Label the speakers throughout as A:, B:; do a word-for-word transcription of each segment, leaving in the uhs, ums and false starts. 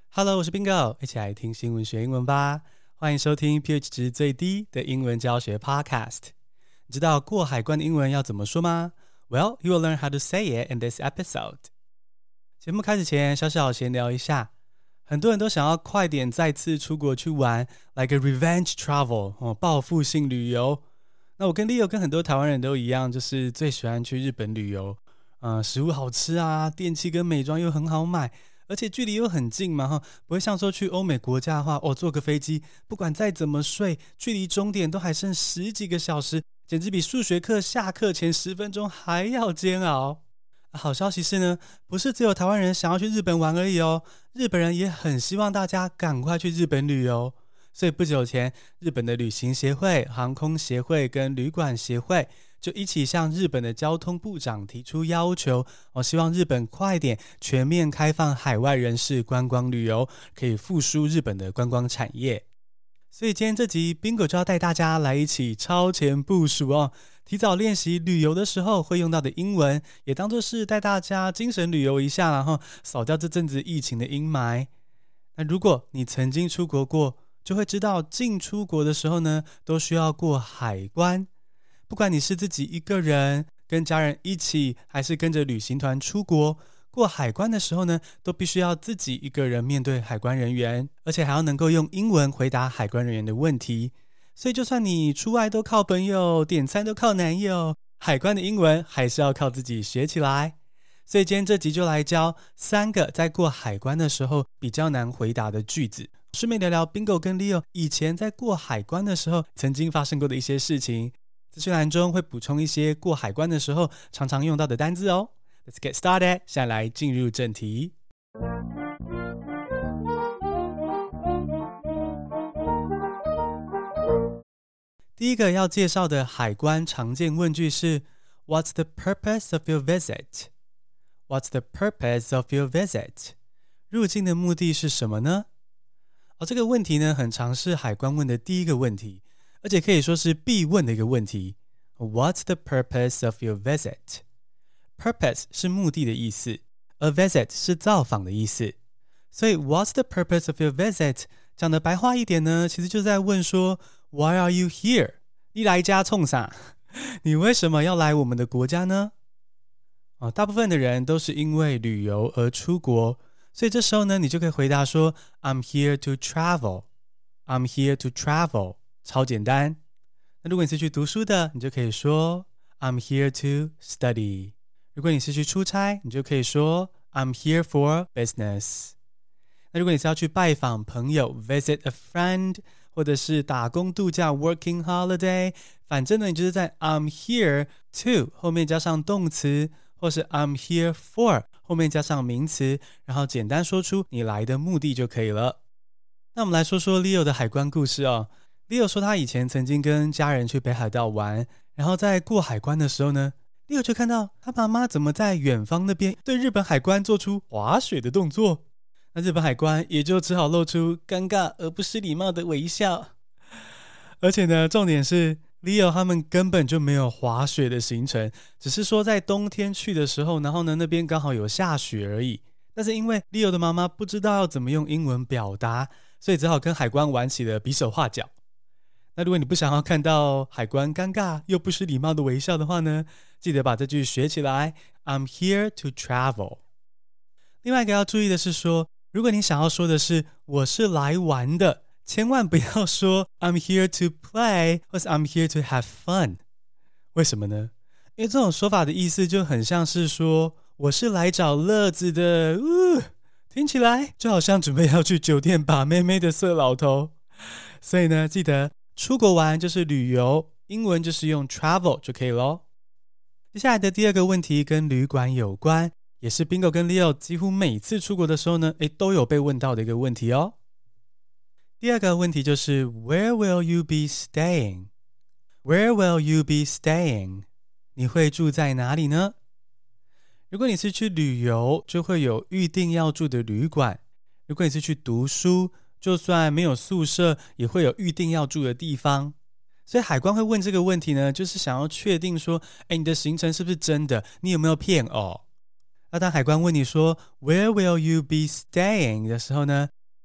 A: Hello， 我是 Bingo， 一起來聽新聞學英文吧。歡迎收聽 P H 值最低的英文教學 Podcast。你知道過海關的英文要怎麼說嗎？ Well, you will learn how to say it in this episode. 節目開始前，小小閒聊一下。很多人都想要快點再次出國去玩 ，like a revenge travel， 哦，報復性旅遊。那我跟 Leo 跟很多台灣人都一樣，就是最喜歡去日本旅遊。嗯，食物好吃啊，電器跟美妝又很好買。而且距離又很近嘛，哈，不會像說去歐美國家的話，哦，坐個飛機，不管再怎麼睡，距離終點都還剩十幾個小時，簡直比數學課下課前十分鐘還要煎熬。好消息是呢，不是只有台灣人想要去日本玩而已哦，日本人也很希望大家趕快去日本旅遊。所以不久前，日本的旅行協會、航空協會跟旅館協會就一起向日本的交通部長提出要求，我希望日本快點全面開放海外人士觀光旅遊，可以復甦日本的觀光產業。所以今天這集 Bingo 就要帶大家來一起超前部署哦，提早練習旅遊的時候會用到的英文，也當作是帶大家精神旅遊一下，然後掃掉這陣子疫情的陰霾。那如果你曾經出國過，就會知道進出國的時候呢，都需要過海關。不管你是自己一個人、跟家人一起，還是跟着旅行團出國，過海關的時候呢，都必須要自己一個人面對海關人員，而且還要能夠用英文回答海關人員的問題。所以就算你出外都靠朋友，點餐都靠男友，海關的英文還是要靠自己學起來。所以今天這集就來教三個在過海關的時候比較難回答的句子，順便聊聊 Bingo 跟 Leo 以前在過海關的時候曾經發生過的一些事情。資訊欄中會補充一些過海關的時候常常用到的單字哦。Let's get started， 現在來進入正題。第一個要介紹的海關常見問句是 What's the purpose of your visit? What's the purpose of your visit? 入境的目的是什麼呢？哦，這個問題呢，很常是海關問的第一個問題。而且可以說是必問的一個問題。What's the purpose of your visit? Purpose 是目的的意思，而 visit 是造訪的意思。所以 What's the purpose of your visit? 講的白話一點呢，其實就在問說 Why are you here? 你來家衝啥？你為什麼要來我們的國家呢？哦，大部分的人都是因為旅遊而出國，所以這時候呢，你就可以回答說 I'm here to travel. I'm here to travel.超簡單。那如果你是去讀書的，你就可以說 I'm here to study。如果你是去出差，你就可以說 I'm here for business。那如果你是要去拜訪朋友 visit a friend， 或者是打工度假 working holiday， 反正呢你就是在 I'm here to 後面加上動詞，或是 I'm here for 後面加上名詞，然後簡單說出你來的目的就可以了。那我們來說說 Leo 的海關故事哦。Leo 說他以前曾經跟家人去北海道玩，然後在過海關的時候呢， Leo 就看到他媽媽怎麼在遠方那邊對日本海關做出滑雪的動作，那日本海關也就只好露出尷尬而不失禮貌的微笑。而且呢，重點是 Leo 他們根本就沒有滑雪的行程，只是說在冬天去的時候，然後呢那邊剛好有下雪而已。但是因為 Leo 的媽媽不知道要怎麼用英文表達，所以只好跟海關玩起了比手畫腳。那如果你不想要看到海關尷尬又不失禮貌的微笑的話呢，記得把這句學起來 I'm here to travel。 另外一個要注意的是說，如果你想要說的是我是來玩的，千萬不要說 I'm here to play 或是 I'm here to have fun。 為什麼呢？因為這種說法的意思就很像是說我是來找樂子的，嗚，聽起來就好像準備要去酒店把妹妹的色老頭。所以呢，記得出國玩就是旅遊，英文就是用 travel 就可以咯。接下來的第二個問題跟旅館有關，也是 Bingo 跟 Leo 幾乎每次出國的時候呢，誒，都有被問到的一個問題哦。第二個問題就是 Where will you be staying? Where will you be staying? 你會住在哪裡呢？如果你是去旅遊，就會有預定要住的旅館。如果你是去讀書，就算沒有宿舍，也會有預定要住的地方。所以海關會問這個問題呢，就是想要確定說，誒，你的行程是不是真的？你有沒有騙哦？那當海關問你說 Where will you be staying 的時候呢，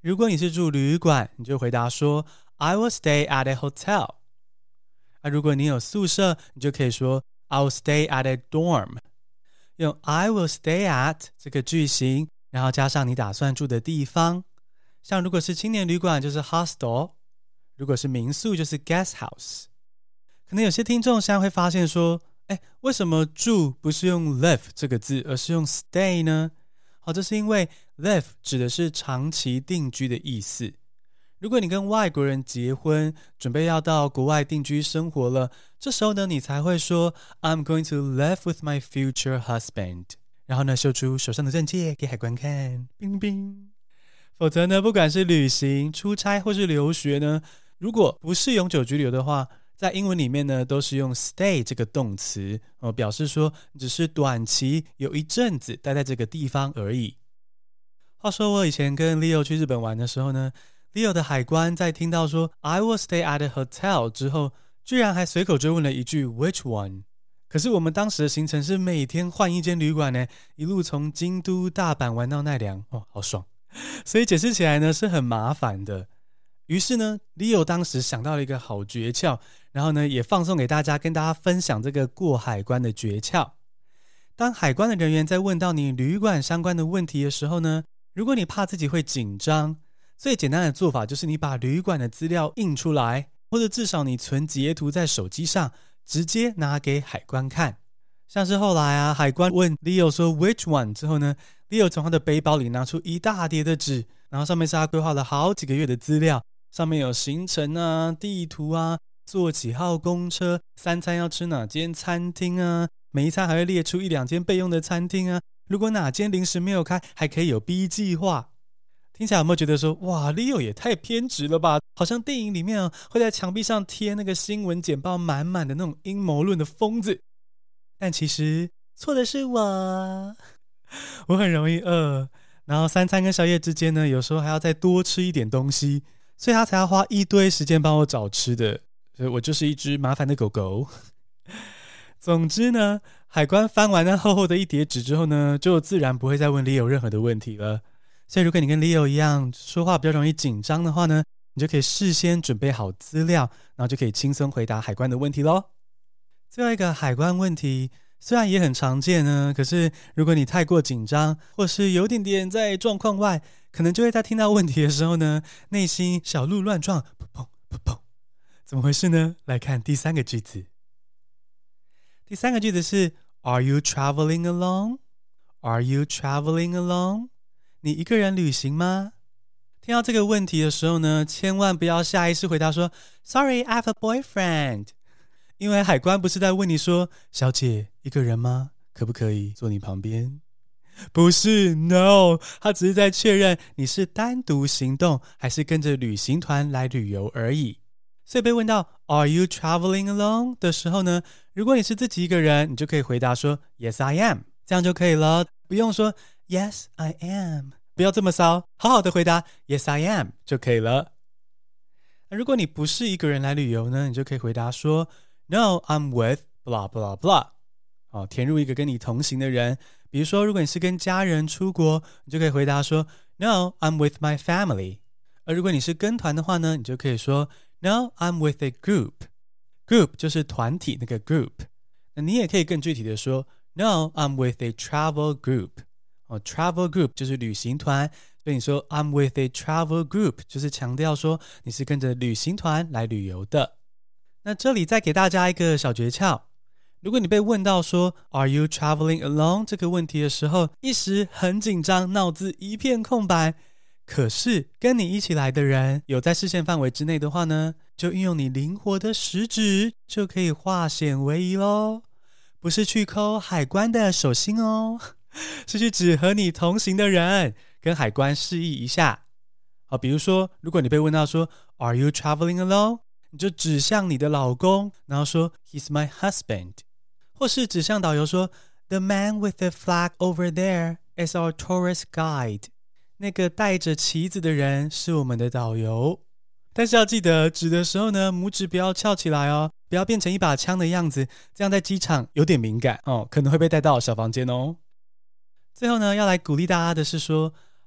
A: 如果你是住旅館，你就回答說 I will stay at a hotel。啊，如果你有宿舍，你就可以說 I will stay at a dorm。用 I will stay at 這個句型，然後加上你打算住的地方。像如果是青年旅館，就是 hostel；如果是民宿，就是 guest house。可能有些聽眾現在會發現說，哎，為什麼住不是用 live 這個字，而是用 stay 呢？好，這是因為 live 指的是長期定居的意思。如果你跟外國人結婚，準備要到國外定居生活了，這時候呢，你才會說 I'm going to live with my future husband。然後呢，秀出手上的證件給海關看，冰冰。否則呢，不管是旅行、出差或是留學呢，如果不是永久居留的話，在英文裡面呢，都是用 stay 這個動詞，哦，表示說只是短期有一陣子待在這個地方而已。話說我以前跟 Leo 去日本玩的時候呢，Leo 的海關在聽到說 I will stay at a hotel 之後，居然還隨口追問了一句 Which one？ 可是我們當時的行程是每天換一間旅館呢，一路從京都、大阪玩到奈良，哦，好爽！所以解釋起來呢是很麻煩的。於是呢 Leo 當時想到了一個好訣竅，然後呢也放送給大家，跟大家分享這個過海關的訣竅。當海關的人員在問到你旅館相關的問題的時候呢，如果你怕自己會緊張，最簡單的做法就是你把旅館的資料印出來，或者至少你存截圖在手機上，直接拿給海關看。像是後來啊，海關問 Leo 說 Which one 之後呢， Leo 從他的背包裡拿出一大疊的紙，然後上面是他規劃了好幾個月的資料，上面有行程啊、地圖啊、坐幾號公車、三餐要吃哪間餐廳啊，每一餐還會列出一兩間備用的餐廳啊，如果哪間臨時沒有開，還可以有 B 計劃。聽起來有沒有覺得說，哇 Leo 也太偏執了吧，好像電影裡面、啊、會在牆壁上貼那個新聞簡報滿滿的那種陰謀論的瘋子。但其實錯的是我，我很容易餓，然後三餐跟宵夜之間呢，有時候還要再多吃一點東西，所以他才要花一堆時間幫我找吃的，所以我就是一隻麻煩的狗狗。總之呢，海關翻完那厚厚的一疊紙之後呢，就自然不會再問 Leo 任何的問題了。所以如果你跟 Leo 一樣說話比較容易緊張的話呢，你就可以事先準備好資料，然後就可以輕鬆回答海關的問題咯。最後一個海關問題雖然也很常見呢，可是如果你太過緊張，或是有點點在狀況外，可能就會在聽到問題的時候呢，內心小鹿亂撞，砰砰砰砰，怎麼回事呢？來看第三個句子。第三個句子是 Are you traveling alone? Are you traveling alone? 你一個人旅行嗎？聽到這個問題的時候呢，千萬不要下意識回答說 Sorry, I have a boyfriend。因為海關不是在問你說小姐一個人嗎？可不可以坐你旁邊？不是 No， 他只是在確認你是單獨行動還是跟着旅行團來旅遊而已。所以被問到 Are you traveling alone 的時候呢，如果你是自己一個人，你就可以回答說 Yes I am， 這樣就可以了，不用說 Yes I am， 不要這麼騷，好好的回答 Yes I am 就可以了。如果你不是一個人來旅遊呢，你就可以回答說 No, I'm with blah blah blah。 好，填入一個跟你同行的人。比如說如果你是跟家人出國，你就可以回答說 No, I'm with my family。 而如果你是跟團的話呢，你就可以說 No, I'm with a group。 Group 就是團體那個 group。 那你也可以更具體的說 No, I'm with a travel group。 哦，travel group 就是旅行團，所以你說 I'm with a travel group 就是強調說你是跟着旅行團來旅遊的。那這裡再給大家一個小訣竅，如果你被問到說 Are you traveling alone 這個問題的時候，一時很緊張，腦子一片空白，可是跟你一起來的人有在視線範圍之內的話呢，就運用你靈活的食指就可以化險為夷咯。不是去摳海關的手心哦，是去指和你同行的人，跟海關示意一下。好，比如說如果你被問到說 Are you traveling alone， 你就指向你的老公，然後說 He's my husband。 或是指向導遊說 The man with the flag over there is our tourist guide。 那個帶着旗子的人是我們的導遊。但是要記得指的時候呢，拇指不要翹起來哦，不要變成一把槍的樣子，這樣在機場有點敏感哦，可能會被帶到小房間哦。最後呢，要來鼓勵大家的是說，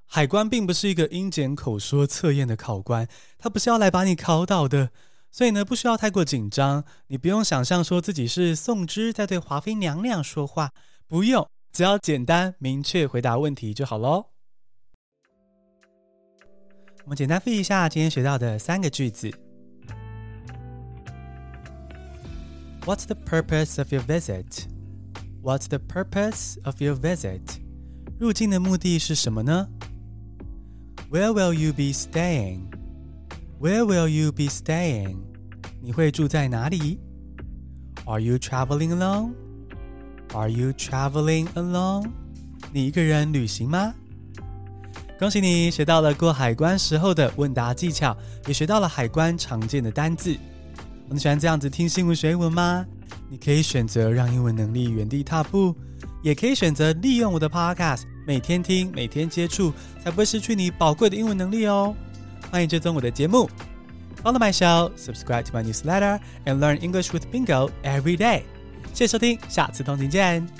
A: 海關並不是一個英檢口說測驗的考官，他不是要來把你考倒的，所以呢，不需要太過緊張。你不用想象說自己是宋芝在對華妃娘娘說話，不用，只要簡單明確回答問題就好咯。我們簡單複習一下今天學到的三個句子。What's the purpose of your visit? What's the purpose of your visit? 入境的目的是什麼呢？ Where will you be staying? Where will you be staying? 你會住在哪裡？ Are you traveling alone? Are you traveling alone? 你一個人旅行嗎？恭喜你學到了過海關時候的問答技巧，也學到了海關常見的單字。你喜歡這樣子聽新聞學英文嗎？你可以選擇讓英文能力原地踏步，也可以選擇利用我的 podcast， 每天聽，每天接觸，才不會失去你寶貴的英文能力哦。歡迎追蹤我的節目 ，Follow my show, subscribe to my newsletter, and learn English with Bingo every day。謝謝收聽，下次通勤見。